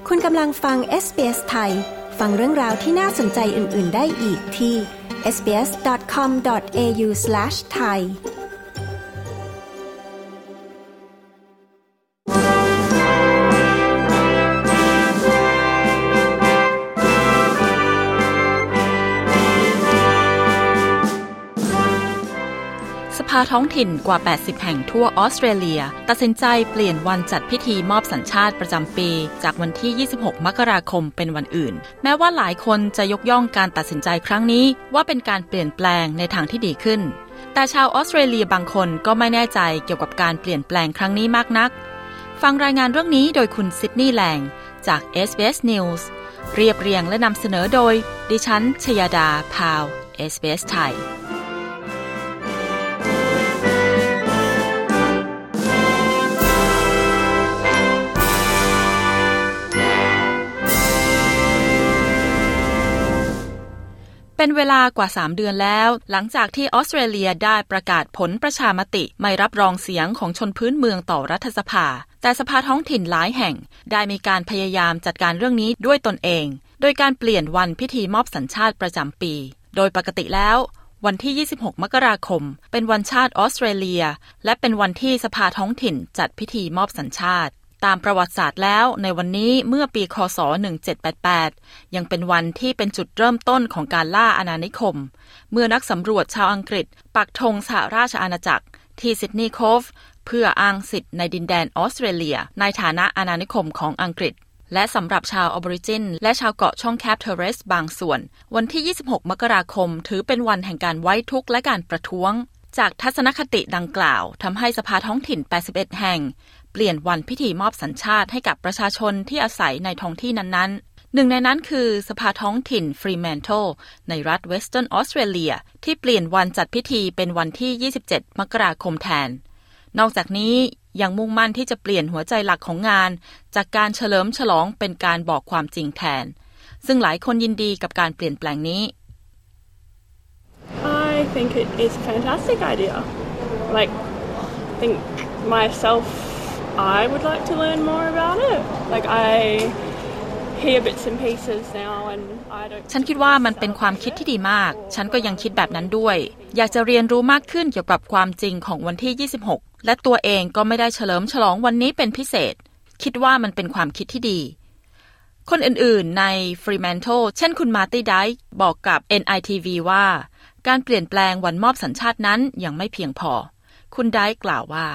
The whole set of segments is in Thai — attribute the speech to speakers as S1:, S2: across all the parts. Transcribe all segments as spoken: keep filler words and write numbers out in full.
S1: คุณกำลังฟัง เอส บี เอส ไทยฟังเรื่องราวที่น่าสนใจอื่นๆได้อีกที่ เอส บี เอส ดอท คอม ดอท เอ ยู สแลช ไทย
S2: สภาท้องถิ่นกว่าแปดสิบแห่งทั่วออสเตรเลียตัดสินใจเปลี่ยนวันจัดพิธีมอบสัญชาติประจำปีจากวันที่ยี่สิบหกมกราคมเป็นวันอื่นแม้ว่าหลายคนจะยกย่องการตัดสินใจครั้งนี้ว่าเป็นการเปลี่ยนแปลงในทางที่ดีขึ้นแต่ชาวออสเตรเลียบางคนก็ไม่แน่ใจเกี่ยวกับการเปลี่ยนแปลงครั้งนี้มากนักฟังรายงานเรื่องนี้โดยคุณซิดนีย์แลงจาก เอส บี เอส News เรียบเรียงและนำเสนอโดยดิฉันชยดาพาว เอส บี เอส ไทยเป็นเวลากว่าสามเดือนแล้วหลังจากที่ออสเตรเลียได้ประกาศผลประชามติไม่รับรองเสียงของชนพื้นเมืองต่อรัฐสภาแต่สภาท้องถิ่นหลายแห่งได้มีการพยายามจัดการเรื่องนี้ด้วยตนเองโดยการเปลี่ยนวันพิธีมอบสัญชาติประจำปีโดยปกติแล้ววันที่ยี่สิบหกมกราคมเป็นวันชาติออสเตรเลียและเป็นวันที่สภาท้องถิ่นจัดพิธีมอบสัญชาติตามประวัติศาสตร์แล้วในวันนี้เมื่อปีคศหนึ่งเจ็ดแปดแปดยังเป็นวันที่เป็นจุดเริ่มต้นของการล่าอาณานิคมเมื่อนักสำรวจชาวอังกฤษปักธงสหราชอาณาจักรที่ซิดนีย์โคฟเพื่ออ้างสิทธิ์ในดินแดนออสเตรเลียในฐานะอาณานิคมของอังกฤษและสำหรับชาวออริจินและชาวเกาะช่องแคบเทเรสบางส่วนวันที่ยี่สิบหกมกราคมถือเป็นวันแห่งการไว้ทุกข์และการประท้วงจากทัศนคติดังกล่าวทำให้สภาท้องถิ่นแปดสิบเอ็ดแห่งเปลี่ยนวันพิธีมอบสัญชาติให้กับประชาชนที่อาศัยในท้องที่นั้นๆหนึ่งในนั้นคือสภาท้องถิ่นฟรีแมนโตลในรัฐเวสเทิร์นออสเตรเลียที่เปลี่ยนวันจัดพิธีเป็นวันที่ยี่สิบเจ็ดมกราคมแทนนอกจากนี้ยังมุ่งมั่นที่จะเปลี่ยนหัวใจหลักของงานจากการเฉลิมฉลองเป็นการบอกความจริงแทนซึ่งหลายคนยินดีกับการเปลี่ยนแปลงนี้
S3: I think it is a fantastic idea. Like, I think myself, I would like to learn more about it. Like, I hear bits and pieces now and I don't...
S2: ฉันคิดว่ามันเป็นความคิดที่ดีมากฉันก็ยังคิดแบบนั้นด้วยอยากจะเรียนรู้มากขึ้นเกี่ยวกับความจริงของวันที่ยี่สิบหกและตัวเองก็ไม่ได้เฉลิมฉลองวันนี้เป็นพิเศษคิดว่ามันเป็นความคิดที่ดีคนอื่นๆใน Fremantle เช่นคุณมาร์ตี้ไดค์บอกกับ เอ็น ไอ ที วี ว่าการเปลี่ยนแปลงวันมอบสัญชาตินั้นยังไม่เพียงพอคุณไดค์กล่าวว่า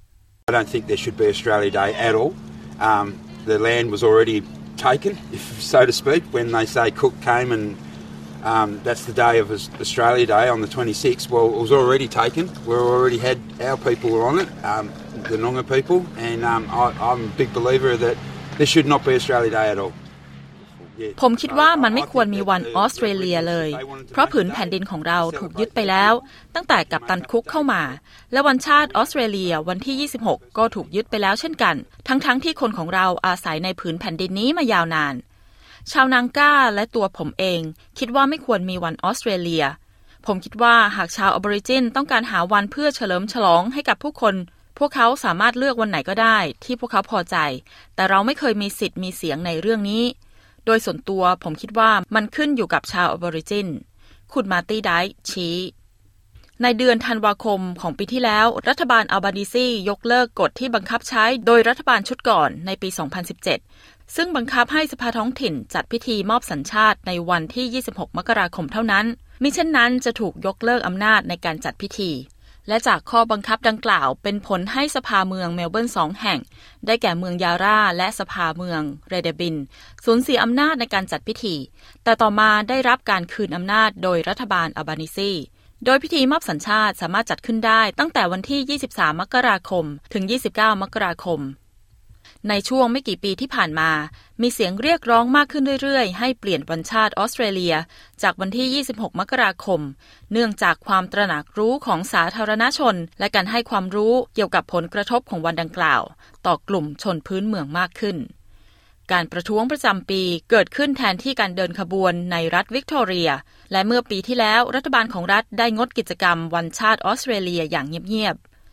S4: I don't think there should be Australia Day at all. Um, the land was already taken, if so to speak, when they say Cook came and um, that's the day of Australia Day on the twenty-sixth. Well, it was already taken. We already had our people were on it, um, the Noongar people, and um, I, I'm a big believer that there should not be Australia Day at all.
S2: ผมคิดว่ามันไม่ควรมีวันออสเตรเลียเลยเพราะผืนแผ่นดินของเราถูกยึดไปแล้วตั้งแต่กัปตันคุกเข้ามาและวันชาติออสเตรเลียวันที่ยี่สิบหกก็ถูกยึดไปแล้วเช่นกันทั้งๆ ท, ที่คนของเราอาศัยในผืนแผ่นดินนี้มายาวนานชาวนางก้าและตัวผมเองคิดว่าไม่ควรมีวันออสเตรเลียผมคิดว่าหากชาวออบอริจินต้องการหาวันเพื่อเฉลิมฉลองให้กับผู้คนพวกเขาสามารถเลือกวันไหนก็ได้ที่พวกเขาพอใจแต่เราไม่เคยมีสิทธิ์มีเสียงในเรื่องนี้โดยส่วนตัวผมคิดว่ามันขึ้นอยู่กับชาวออบอริจินคุณมาร์ตี้ไดค์ชี้ในเดือนธันวาคมของปีที่แล้วรัฐบาลอัลบานีซียกเลิกกฎที่บังคับใช้โดยรัฐบาลชุดก่อนในปีสองพันสิบเจ็ดซึ่งบังคับให้สภาท้องถิ่นจัดพิธีมอบสัญชาติในวันที่ยี่สิบหกมกราคมเท่านั้นมิเช่นนั้นจะถูกยกเลิกอำนาจในการจัดพิธีและจากข้อบังคับดังกล่าวเป็นผลให้สภาเมืองเมลเบิร์นสองแห่งได้แก่เมืองยาร่าและสภาเมืองเรเดบินสูญเสียอำนาจในการจัดพิธีแต่ต่อมาได้รับการคืนอำนาจโดยรัฐบาลอัลบานีซีโดยพิธีมอบสัญชาติสามารถจัดขึ้นได้ตั้งแต่วันที่ยี่สิบสามมกราคมถึงยี่สิบเก้ามกราคมในช่วงไม่กี่ปีที่ผ่านมามีเสียงเรียกร้องมากขึ้นเรื่อยๆให้เปลี่ยนวันชาติออสเตรเลียจากวันที่ยี่สิบหกมกราคมเนื่องจากความตระหนักรู้ของสาธารณชนและการให้ความรู้เกี่ยวกับผลกระทบของวันดังกล่าวต่อกลุ่มชนพื้นเมืองมากขึ้นการประท้วงประจำปีเกิดขึ้นแทนที่การเดินขบวนในรัฐวิกตอเรียและเมื่อปีที่แล้วรัฐบาลของรัฐได้งดกิจกรรมวันชาติออสเตรเลียอย่างเงียบๆ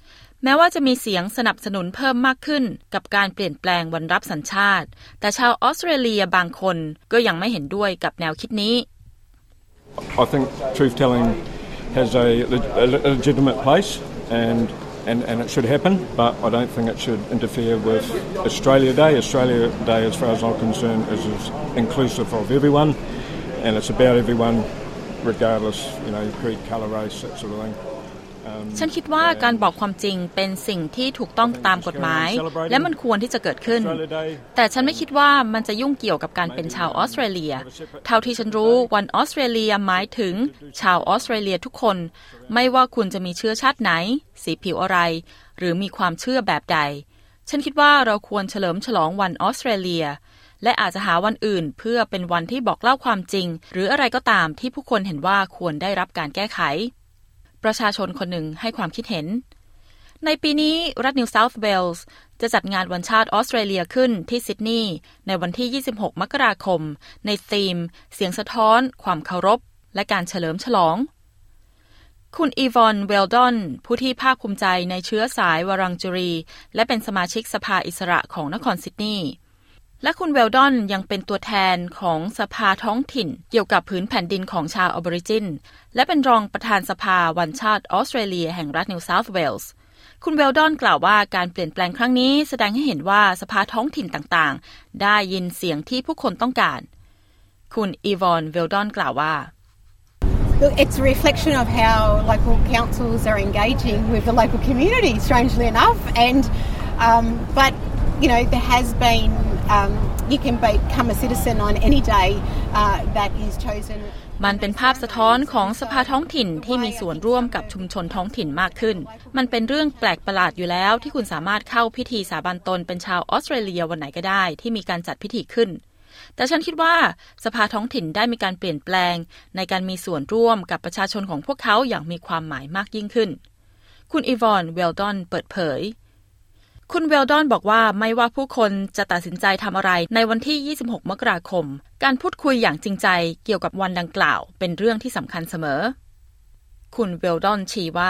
S2: แม้ว่าจะมีเสียงสนับสนุนเพิ่มมากขึ้นกับการเปลี่ยนแปลงวันรับสัญชาติแต่ชาวออสเตรเลียบางคนก็ยังไม่เห็นด้วยกับแนวคิดนี้
S5: I think truth telling has a, a legitimate place and And, and it should happen, but I don't think it should interfere with Australia Day. Australia Day, as far as I'm concerned, is, is inclusive of everyone, and it's about everyone, regardless, you know, creed, colour, race, that sort of thing.
S2: ฉันคิดว่าการบอกความจริงเป็นสิ่งที่ถูกต้องตามกฎหมายและมันควรที่จะเกิดขึ้นแต่ฉันไม่คิดว่ามันจะยุ่งเกี่ยวกับการเป็นชาวออสเตรเลียเท่าที่ฉันรู้วันออสเตรเลียหมายถึงชาวออสเตรเลียทุกคนไม่ว่าคุณจะมีเชื้อชาติไหนสีผิวอะไรหรือมีความเชื่อแบบใดฉันคิดว่าเราควรเฉลิมฉลองวันออสเตรเลียและอาจจะหาวันอื่นเพื่อเป็นวันที่บอกเล่าความจริงหรืออะไรก็ตามที่ผู้คนเห็นว่าควรได้รับการแก้ไขประชาชนคนหนึ่งให้ความคิดเห็นในปีนี้รัฐนิวเซาท์เวลส์จะจัดงานวันชาติออสเตรเลียขึ้นที่ซิดนีย์ในวันที่ยี่สิบหกมกราคมในธีมเสียงสะท้อนความเคารพและการเฉลิมฉลองคุณอีวอนเวลดอนผู้ที่ภาคภูมิใจในเชื้อสายวารังจูรีและเป็นสมาชิกสภาอิสระของนครซิดนีย์และคุณเวลดอนยังเป็นตัวแทนของสภาท้องถิ่นเกี่ยวกับพื้นแผ่นดินของชาวออบอริจินและเป็นรองประธานสภาวันชาติออสเตรเลียแห่งรัฐนิวเซาท์เวลส์คุณเวลดอนกล่าวว่าการเปลี่ยนแปลงครั้งนี้แสดงให้เห็นว่าสภาท้องถิ่นต่างๆได้ยินเสียงที่ผู้คนต้องการคุณอีวอนเวลดอนกล่าวว่า
S6: Look, it's a reflection of how local councils are engaging with the local community, strangely enough. And um, but you know, there has been um, you can become a citizen on any day uh, that is chosen.
S2: มันเป็นภาพสะท้อนของสภาท้องถิ่นที่มีส่วนร่วมกับชุมชนท้องถิ่นมากขึ้นมันเป็นเรื่องแปลกประหลาดอยู่แล้วที่คุณสามารถเข้าพิธีสาบานตนเป็นชาวออสเตรเลียวันไหนก็ได้ที่มีการจัดพิธีขึ้นแต่ฉันคิดว่าสภาท้องถิ่นได้มีการเปลี่ยนแปลงในการมีส่วนร่วมกับประชาชนของพวกเขาอย่างมีความหมายมากยิ่งขึ้นคุณอีวอนเวลดอนเปิดเผยคุณเวลดอนบอกว่าไม่ว่าผู้คนจะตัดสินใจทำอะไรในวันที่ยี่สิบหกมกราคมการพูดคุยอย่างจริงใจเกี่ยวกับวันดังกล่าวเป็นเรื่องที่สำคัญเสมอคุณเวลดอนชี้ว่า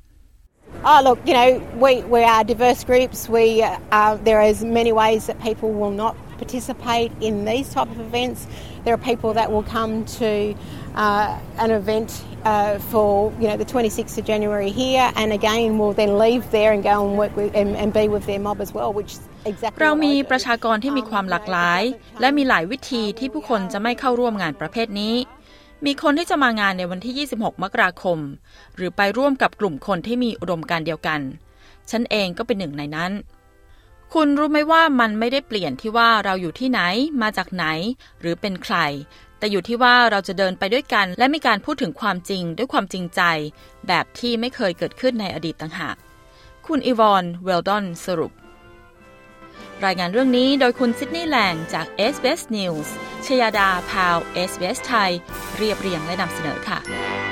S6: Oh look, you know, we we are diverse groups. We uh, there is many ways that people will not participate in these type of events. There are people that will come to uh, an event uh, for you know the twenty-sixth of January here, and again will then leave there and go and work with and, and be with their mob as well, which is exactly.
S2: เรามีประชากรที่มีความหลากหลายและมีหลายวิธีที่ผู้คนจะไม่เข้าร่วมงานประเภทนี้มีคนที่จะมางานในวันที่ยี่สิบหกมกราคมหรือไปร่วมกับกลุ่มคนที่มีอุดมการณ์เดียวกันฉันเองก็เป็นหนึ่งในนั้นคุณรู้ไหมว่ามันไม่ได้เปลี่ยนที่ว่าเราอยู่ที่ไหนมาจากไหนหรือเป็นใครแต่อยู่ที่ว่าเราจะเดินไปด้วยกันและมีการพูดถึงความจริงด้วยความจริงใจแบบที่ไม่เคยเกิดขึ้นในอดีตต่างหากคุณอีวอนเวลดอนสรุปรายงานเรื่องนี้โดยคุณซิดนีย์แลงจาก เอส บี เอส News ชยาดาพาว เอส บี เอส ไทยเรียบเรียงและนำเสนอค่ะ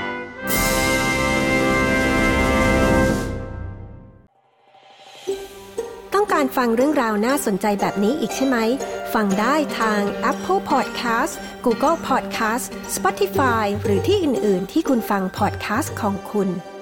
S1: ต้องการฟังเรื่องราวน่าสนใจแบบนี้อีกใช่ไหมฟังได้ทาง Apple Podcast Google Podcast Spotify หรือที่อื่นๆที่คุณฟัง podcast ของคุณ